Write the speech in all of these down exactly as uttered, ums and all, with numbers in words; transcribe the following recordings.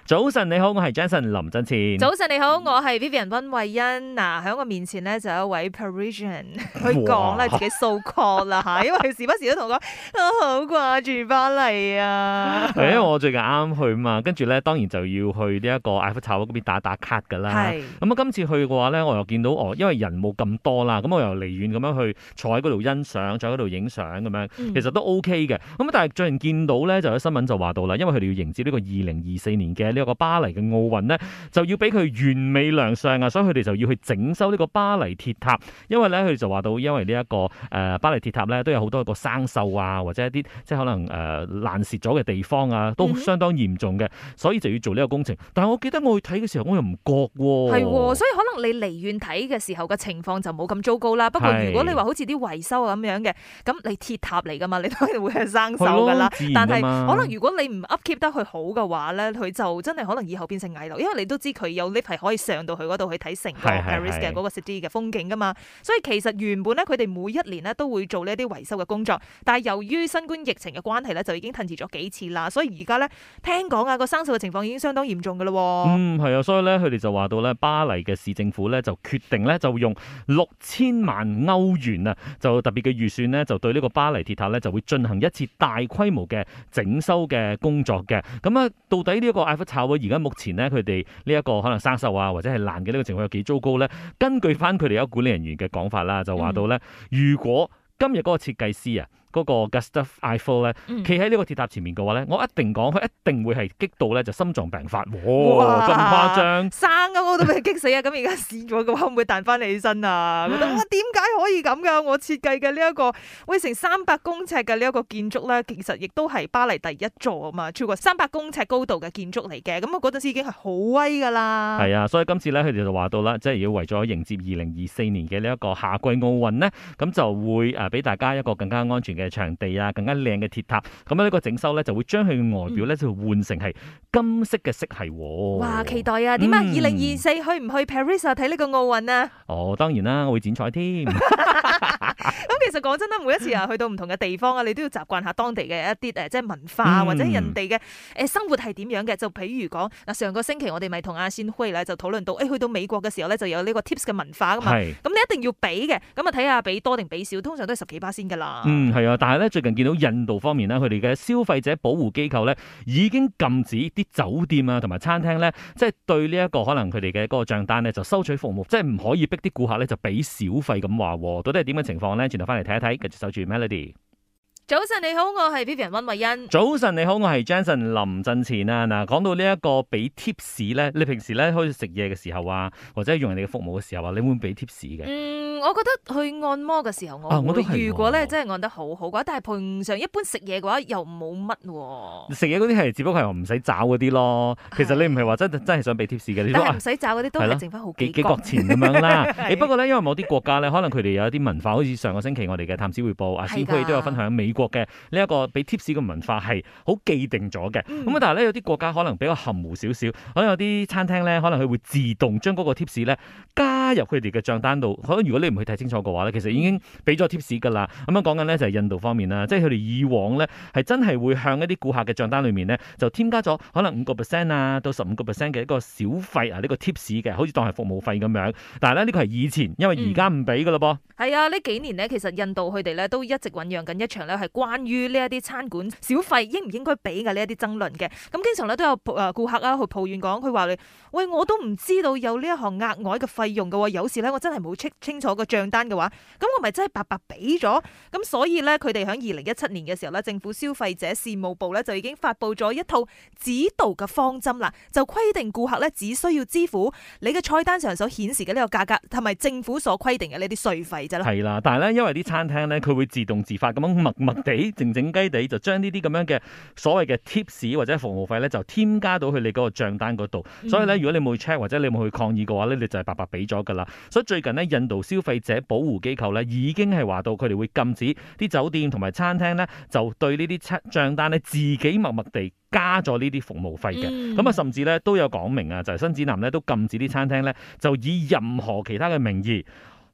早晨你好，我係 Jason 林振前。 早晨你好，我係 Vivian 溫慧欣。嗱，喺我面前咧就有一位 Parisian 去講啦，自己 so call 啦吓，因為佢時不時都同我講，我好掛住巴黎啊。 係因為我最近啱啱去嘛，跟住咧當然就要去呢一個埃菲塔嗰邊打打卡噶啦。係咁啊，今次去嘅話咧，我又見到哦，因為人冇咁多啦，咁我又離遠咁樣去坐喺嗰度欣賞，坐喺嗰度影相咁樣，其實都 OK 嘅。咁但係最近見到咧，就有新聞就話到啦，因為佢哋要迎接呢個二零二四年嘅呢一個巴黎嘅奧運呢，就要俾佢完美亮相啊，所以佢哋就要去整修呢個巴黎鐵塔。因為咧，佢哋就話到，因為呢、這、一個誒、呃、巴黎鐵塔咧，都有好多個生鏽啊，或者一啲即係可能誒、呃、爛蝕咗嘅地方啊，都相當嚴重嘅，所以就要做呢個工程。但係我記得我去睇嘅時候，我又唔覺喎。 係喎，所以可能你離遠睇嘅時候嘅情況就冇咁糟糕啦。不過如果你話好似啲維修啊咁樣嘅，咁你鐵塔嚟噶嘛，你當然會係生鏽噶啦。但係可能如果你唔 upkeep 得佢好嘅話咧，佢就真係可能以後變成危樓，因為你都知佢有 lift 係可以上到去嗰度去睇成個 Paris 嘅嗰個 city 嘅風景噶嘛。所以其實原本咧，佢哋每一年咧都會做呢一啲維修嘅工作，但係由於新冠疫情嘅關係咧，就已經褪遲咗幾次啦。所以而家咧聽講啊，個生鏽嘅情況已經相當嚴重噶啦。 嗯，係啊，所以咧佢哋就話到咧，巴黎嘅市政府咧就決定咧就用六千萬歐元啊，就特別嘅預算咧，就對呢個巴黎鐵塔咧就會進行一次大規模嘅整修嘅工作嘅。咁啊，到底呢一個埃菲塔而家目前咧佢哋呢一個可能生鏽啊或者係爛嘅呢個情況有幾糟糕咧？根據翻佢哋有管理人員嘅講法啦，就話到咧，如果今日嗰個設計師啊，嗰、那個 Gustave Eiffel 咧，企喺呢個鐵塔前面嘅話咧，我一定講佢一定會係激到咧就心臟病發，哇咁誇張， 生啊我都俾佢激死啊！咁而家試咗嘅話，會唔會彈翻起身啊？覺得哇，點解可以咁噶？我設計嘅呢一個喂成三百公尺嘅呢一個建築咧，其實亦都係巴黎第一座啊嘛，超過三百公尺高度嘅建築嚟嘅。咁我嗰陣時已經係好威噶啦。 係啊，所以今次咧佢哋就話到啦，即係要為咗迎接二零二四年嘅呢一個夏季奧運呢，咁就會誒俾大家一個更加安全嘅場地啊，更加靚嘅鐵塔，咁呢個整修咧就會將佢嘅外表咧就換成係金色嘅色系。 哇，期待啊！點啊？二零二四去唔去 Paris 啊？睇呢個奧運啊？ 哦，當然啦，我會剪彩添。 咁其實講真啦，每一次啊去到唔同嘅地方啊，你都要習慣下當地嘅一啲誒，即係文化或者人哋嘅誒生活係點樣嘅。就譬如講嗱，上個星期我哋咪同阿仙輝咧就討論到，誒去到美國嘅時候咧就有呢個 tips 嘅文化噶嘛。咁你一定要俾嘅，咁啊睇下俾多定俾少，通常都係十幾巴仙噶啦。 嗯，係啊，但係咧最近見到印度方面咧，佢哋嘅消費者保護機構咧已經禁止啲酒店啊同埋餐廳咧，即係對呢一個可能佢哋嘅嗰個賬單咧就收取服務，即係唔可以逼啲顧客咧就俾小費咁話。到底係點嘅情況咧？轉頭翻嚟睇一睇，繼續守住 Melody。 早晨你好，我係 Vivian 溫慧欣。 早晨你好，我係 Jason 林振前啊。嗱，講到呢一個俾 tips 咧，你平時咧開始食嘢嘅時候啊，或者用人哋嘅服務嘅時候啊，你會唔會俾 tips 嘅？ 嗯，我覺得去按摩嘅時候我會，啊、我如果咧真係按得好好嘅話，但係平常一般食嘢嘅話又冇乜。食嘢嗰啲係只不過係唔使找嗰啲咯。其實你唔係話真真係想俾 tips 嘅，你但係唔使找嗰啲都係剩翻好幾幾角錢咁樣啦。誒不過咧，因為某啲國家咧，可能佢哋有一啲文化，好似上個星期我哋嘅探子匯報阿先輝都有分享美國嘅呢一個俾 tips 嘅文化係好既定咗嘅。咁、嗯、但係咧有啲國家可能比較含糊少少，可能有啲餐廳咧可能佢會自動將嗰個 tips 咧加入佢哋嘅帳單度。可能如果你唔去睇清楚嘅話咧，其實已經俾咗 tips 㗎啦。咁樣講緊咧就係印度方面啦，即係佢哋以往咧係真係會向一啲顧客嘅帳單裏面咧就添加咗可能五個 percent 啊到十五個 percent 嘅一個小費啊，呢個 tips 嘅，好似當係服務費咁樣。但係咧呢個係以前，因為而家唔俾㗎咯噃。 係、嗯、啊，呢幾年咧其實印度佢哋咧都一直醖釀緊一場咧係關於呢一啲餐館小費應唔應該俾嘅呢一啲爭論嘅。咁經常咧都有誒顧客啊去抱怨講，佢話你喂，我都唔知道有呢一項額外嘅費用嘅喎，有時咧我真係冇 check 清楚個帳單嘅話，咁我咪真係白白俾咗。咁所以咧佢哋喺二零一七年嘅時候咧，政府消費者事務部咧就已經發布咗一套指導嘅方針啦，就規定顧客咧只需要支付你嘅菜單上所顯示嘅呢個價格，同埋政府所規定嘅呢啲稅費啫啦。 係啦，但係咧因為啲餐廳咧佢會自動自發咁樣默默地靜靜雞地就將呢啲咁樣嘅所謂嘅 tips 或者服務費咧就添加到去你嗰個帳單嗰度。嗯、所以咧如果你冇去 check 或者你冇去抗議嘅話咧，你就係白白俾咗噶啦。所以最近呢，印度消費者保護機構咧已經係話到佢哋會禁止啲酒店同埋餐廳咧就對呢啲帳單咧自己默默地加咗呢啲服務費嘅。咁、嗯、啊甚至咧都有講明啊，就係、是、新指南咧都禁止啲餐廳咧就以任何其他嘅名義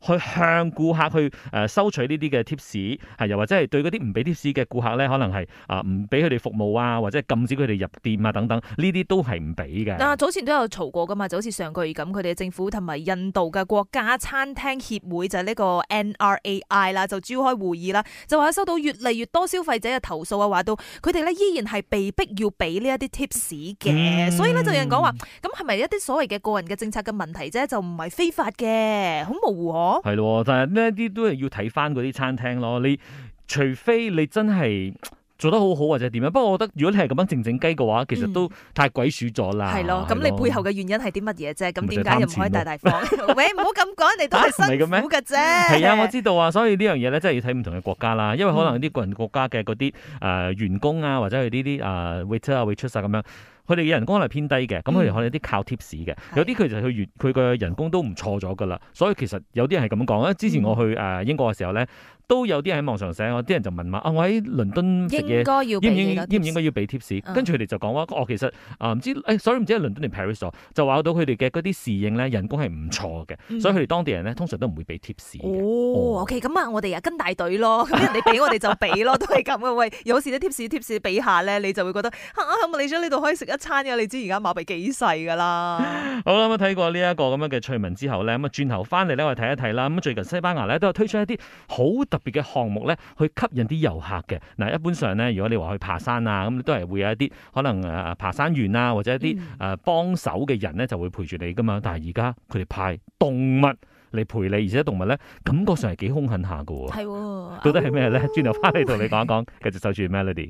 去向顧客去誒收取呢啲嘅 tips， 係又或者係對嗰啲唔俾 tips 嘅顧客咧，可能係啊唔俾佢哋服務啊，或者係禁止佢哋入店啊等等，呢啲都係唔俾嘅。 嗱，早前都有嘈過噶嘛，就好似上個月咁，佢哋政府同埋印度嘅國家餐廳協會就係呢個 N R A I 啦，就召開會議啦，就話收到越嚟越多消費者嘅投訴啊，話到佢哋咧依然係被逼要俾呢一啲 tips 嘅，嗯、所以咧就有人講話，咁係咪一啲所謂嘅個人嘅政策嘅問題啫？就唔係非法嘅，好模糊嗬。 係咯，但係呢一啲都係要睇翻嗰啲餐廳咯。你除非你真係做得好好或者點樣，不過我覺得如果你係咁樣靜靜雞嘅話，其實都太鬼鼠咗啦。 係咯、嗯，咁你背後嘅原因係啲乜嘢啫？咁點解又唔可以大大方？喂，唔好咁講，你都係辛苦嘅啫。 係啊，我知道啊，所以呢樣嘢咧，真係要睇唔同嘅國家啦。因為可能啲個人國家嘅嗰啲誒員工啊，或者係呢啲誒 waiter 啊 waitress 啊咁樣。佢哋嘅人工係偏低嘅，咁佢哋可能有啲靠 tips 嘅，有啲佢就去佢嘅人工都唔錯咗噶啦，所以其實有啲人係咁講啊。之前我去誒英國嘅時候咧，都有啲人喺網上寫，有啲人就問話啊，我喺倫敦食嘢，應該要應唔應應唔應該要俾 tips？、嗯、跟住佢哋就講話，哦，其實啊唔知誒 sorry 唔知係倫敦定 Paris 咗，就話到佢哋嘅嗰啲侍應咧人工係唔錯嘅，嗯、所以佢哋當地人咧通常都唔會俾 tips 嘅。 哦，哦，OK，咁啊，我哋啊跟大隊咯，咁人哋俾我哋就俾咯，都係咁嘅。喂，有時啲 tips tips 俾下咧，你就會覺得啊，嚟咗呢度可以食一餐嘅，你知而家馬幣幾細噶啦。 好啦，咁睇過呢一個咁樣嘅趣聞之後咧，咁啊轉頭翻嚟咧，我哋睇一睇啦。咁最近西班牙咧都有推出一啲好特別嘅項目咧，去吸引啲遊客嘅。嗱，一般上咧，如果你話去爬山啊，咁都係會有一啲可能誒爬山員啊，或者一啲誒幫手嘅人咧，就會陪住你噶嘛。但係而家佢哋派動物嚟陪你，而且動物咧感覺上係幾兇狠下噶。係、哦，到底係咩咧？轉頭翻嚟同你講一講，繼續守住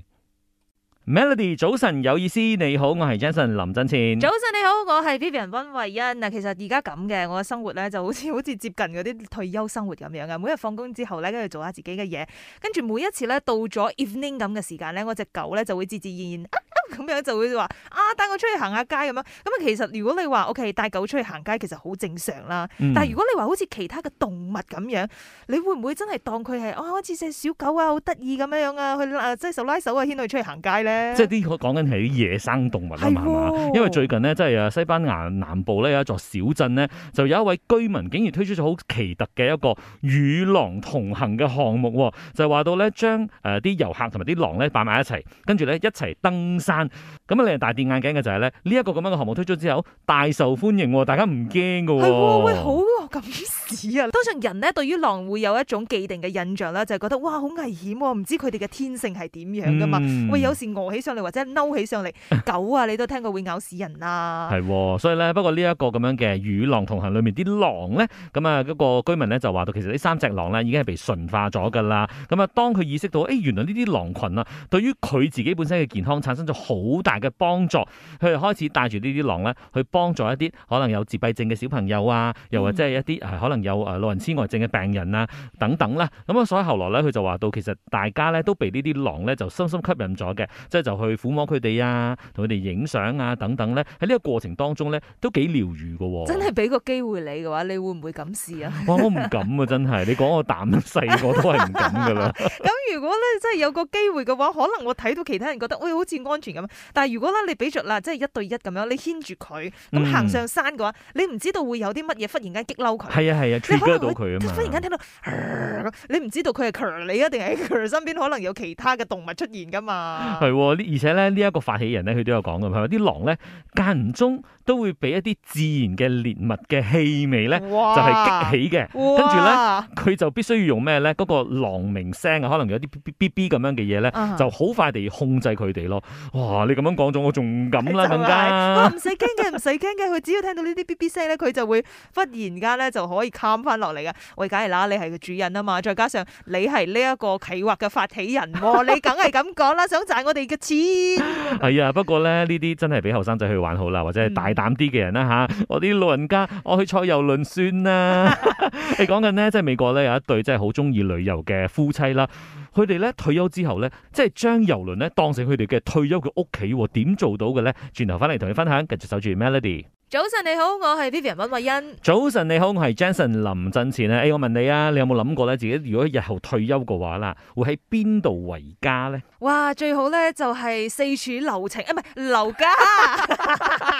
Melody。Melody， 早晨有意思，你好，我係 Jason 林振前。 早晨你好，我係 Vivian 溫慧欣。嗱，其實而家咁嘅，我嘅生活咧就好似好似接近嗰啲退休生活咁樣嘅。每日放工之後咧，跟住做下自己嘅嘢，跟住每一次咧到咗 evening 咁嘅時間咧，我隻狗咧就會自自然然咁樣就會話啊，帶我出去行下街咁樣。咁啊，其實如果你話 OK 帶狗出去行街，其實好正常啦。嗯、但係如果你話好似其他嘅動物咁樣，你會唔會真係當佢係啊好似隻小狗啊，好得意咁樣樣啊，去啊即係手拉手啊，牽佢出去行街咧？ 即係啲講緊係啲野生動物啊嘛，哦、因為最近呢，即係啊西班牙南部咧有一座小鎮呢，就有一位居民竟然推出咗好奇特嘅一個與狼同行嘅項目，就係話到咧將誒啲遊客同埋啲狼咧擺埋一齊，跟住咧一齊登山。咁啊，令人大跌眼鏡嘅就係咧呢一個咁樣嘅項目推出之後大受歡迎，大家唔驚㗎。 係喂，好咁屎啊！通常人咧對於狼會有一種既定嘅印象啦，就係覺得哇好危險，唔知佢哋嘅天性係點樣噶嘛？嗯、喂，有時餓起上嚟或者嬲起上嚟，狗啊你都聽過會咬死人啊。係， 所以咧不過呢一個咁樣嘅與狼同行裏面啲狼咧，咁啊嗰個居民咧就話到，其實呢三隻狼咧已經係被馴化咗噶啦。咁啊，當佢意識到誒、欸、原來呢啲狼群啊，對於佢自己本身嘅健康產生咗好大嘅幫助，佢哋開始帶住呢啲狼咧去幫助一啲可能有自閉症嘅小朋友啊，又或者係一啲係可能有誒老人痴呆症嘅病人啊等等啦。咁啊，所以後來咧佢就話到，其實大家咧都被呢啲狼咧就深深吸引咗嘅，即係就去撫摸佢哋啊，同佢哋影相啊等等咧。喺呢個過程當中咧都幾療愈嘅。真係俾個機會你嘅話，你會唔會咁試啊？哇，我唔敢啊，真係。你講我膽細，我都係唔敢噶啦。咁如果咧真係有個機會嘅話，可能我睇到其他人覺得喂好似安全咁，但係如果咧你俾着啦，即係一對一咁樣，你牽住佢咁行上山嘅話，你唔知道會有啲乜嘢忽然間激嬲佢。係啊係啊，trigger到佢啊嘛。忽然間聽到，你唔知道佢係強你啊，定係佢身邊可能有其他嘅動物出現噶嘛？係，而且咧呢一個發起人咧，佢都有講嘅，佢話啲狼咧間唔中都會俾一啲自然嘅獵物嘅氣味咧，就係激起嘅。跟住咧，佢就必須要用咩咧？嗰個狼鳴聲啊，可能有啲 B B B 咁樣嘅嘢咧，就好快地控制佢哋咯。哇！你咁樣講咗，我仲唔敢啦，更加。唔使驚嘅，唔使驚嘅，佢只要聽到呢啲 B B 聲咧，佢就會忽然間咧就可以 calm 翻落嚟噶。喂，梗係啦，你係個主人啊嘛，再加上你係呢一個企劃嘅發起人，你梗係咁講啦，想賺我哋嘅錢。係啊，不過咧呢啲真係俾後生仔去玩好啦，或者係大膽啲嘅人啦吓。嗯、我啲老人家，我去坐遊輪算啦。你講緊呢，即係美國咧有一對真係好中意旅遊嘅夫妻啦。佢哋咧退休之後咧，即係將遊輪咧當成佢哋嘅退休嘅屋企，點做到嘅咧？轉頭翻嚟同你分享，繼續守住 Melody。早晨你好，我係 Vivian 溫慧欣。早晨你好，我係 Jason 林振前啊！誒、欸，我問你啊，你有冇諗過咧？自己如果日後退休嘅話啦，會喺邊度為家咧？哇，最好咧就係四處留情，啊唔係留家。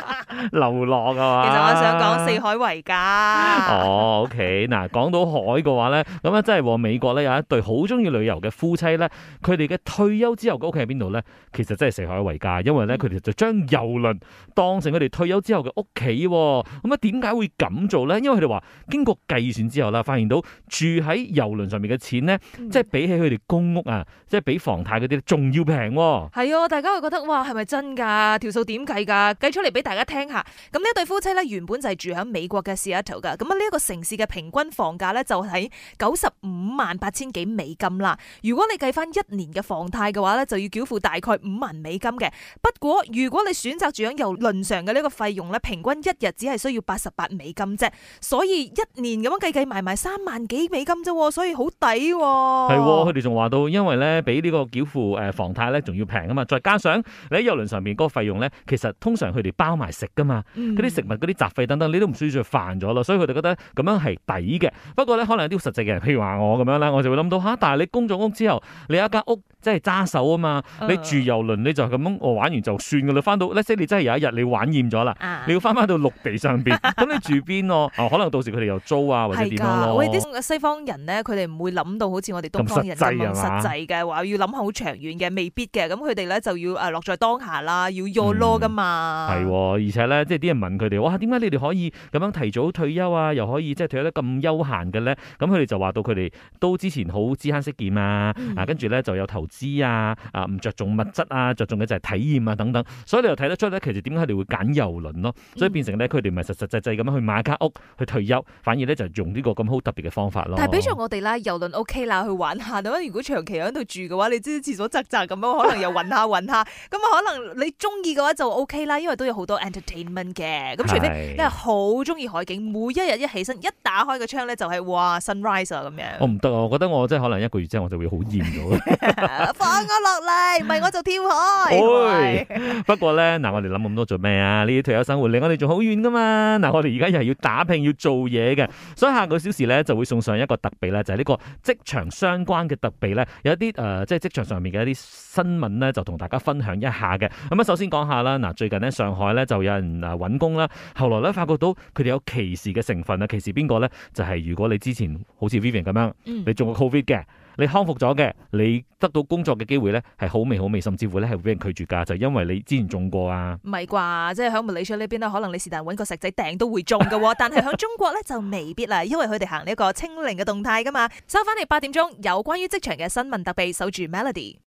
流浪啊嘛。 其實我想講四海為家。 哦，OK，嗱，講到海嘅話咧，咁啊真係喎，美國咧有一對好中意旅遊嘅夫妻咧，佢哋嘅退休之後嘅屋企喺邊度咧？其實真係四海為家，因為咧佢哋就將郵輪當成佢哋退休之後嘅屋企。咁啊，點解會咁做咧？因為佢哋話經過計算之後啦，發現到住喺郵輪上面嘅錢咧，嗯、即係比起佢哋公屋啊，即係比房貸嗰啲仲要平。 係啊，大家會覺得哇，係咪真㗎？條數點計㗎？計出嚟俾大家聽下。咁呢一對夫妻咧，原本就係住喺美國嘅 Seattle 㗎。咁啊，呢一個城市嘅平均房價咧，就喺九十五萬八千幾美金啦。如果你計翻一年嘅房貸嘅話咧，就要繳付大概五萬美金嘅。不過如果你選擇住喺郵輪上嘅呢個費用咧，平均一日只係需要八十八美金啫。所以一年咁樣計計埋埋三萬幾美金啫，所以好抵喎。 係，佢哋仲話到，因為咧比呢個繳付誒房貸咧仲要平啊嘛，再加上你喺郵輪上面嗰個費用咧，其實通常佢哋包埋食噶嘛，嗰啲、嗯、食物、嗰啲雜費等等，你都唔需要再煩咗咯，所以佢哋覺得咁樣係抵嘅。不過咧，可能有啲實際嘅人，譬如話我咁樣咧，我就會諗到吓，但係你供咗屋之後，你有一間屋即係揸手啊嘛，嗯、你住郵輪你就咁樣我玩完就算噶啦，翻到咧即係你真係有一日你玩厭咗啦，啊、你要翻翻到陸地上邊，咁你住邊咯？哦，可能到時佢哋又租啊或者點樣咯。 喂，啲西方人咧，佢哋唔會諗到好似我哋東方人咁實際嘅，話要諗好長遠嘅，未必嘅。咁佢哋咧就要誒落在當下啦，要 YOLO 噶嘛。係、 嗯，而且咧，即係啲人問佢哋，哇，點解你哋可以咁樣提早退休啊？又可以即係退休得咁悠閒嘅咧？咁佢哋就話到佢哋都之前好知慳識儉啊，嗯、啊，跟住咧就有投資啊，啊，唔着重物質啊，着重嘅就係體驗啊等等。所以你又睇得出咧，其實點解佢哋會揀郵輪咯？所以變成咧，佢哋唔係實實際際咁樣去買間屋去退休，反而咧就用呢個咁好特別嘅方法咯。 但係比著我哋啦，郵輪 OK 啦，去玩下。咁如果長期喺度住嘅話，你知廁所窄窄咁樣，可能又暈下暈下。咁啊，可能你中意嘅話就 OK 啦，因為都有好多 entertainment 嘅。咁除非你係好中意海景，每一日一起身一打開個窗咧就係、是、哇 sunrise 啊咁樣。我唔得啊，我覺得我真係可能一個月之後我就會好厭咗。 放我落嚟，唔係我就跳海。 哎、不過咧，嗱，我哋諗咁多做咩啊？呢啲退休生活離我哋仲好遠噶嘛。嗱，我哋而家又係要打拼要做嘢嘅，所以下個小時咧就會送上一個特備咧，就係、是、呢個職場相關嘅特備咧，有一啲誒、呃，即係職場上面嘅一啲新聞咧，就同大家分享一下嘅。咁啊，首先講下啦，嗱，最近咧上海咧就有人誒揾工啦，後來咧發覺到佢哋有歧視嘅成分啊，歧視邊個咧？就係、是、如果你之前好似 Vivian 咁樣，嗯、你中過 Covid 嘅。你康復咗嘅，你得到工作嘅機會咧係好微好微，甚至乎咧係會俾人拒絕噶，就因為你之前中過啊。 唔係啩？即係喺馬來西亞呢邊咧，可能你是但揾個石仔掟都會中噶，但係喺中國咧就未必啦，因為佢哋行呢一個清零嘅動態噶嘛。收翻嚟八點鐘有關於職場嘅新聞特備，守住 Melody。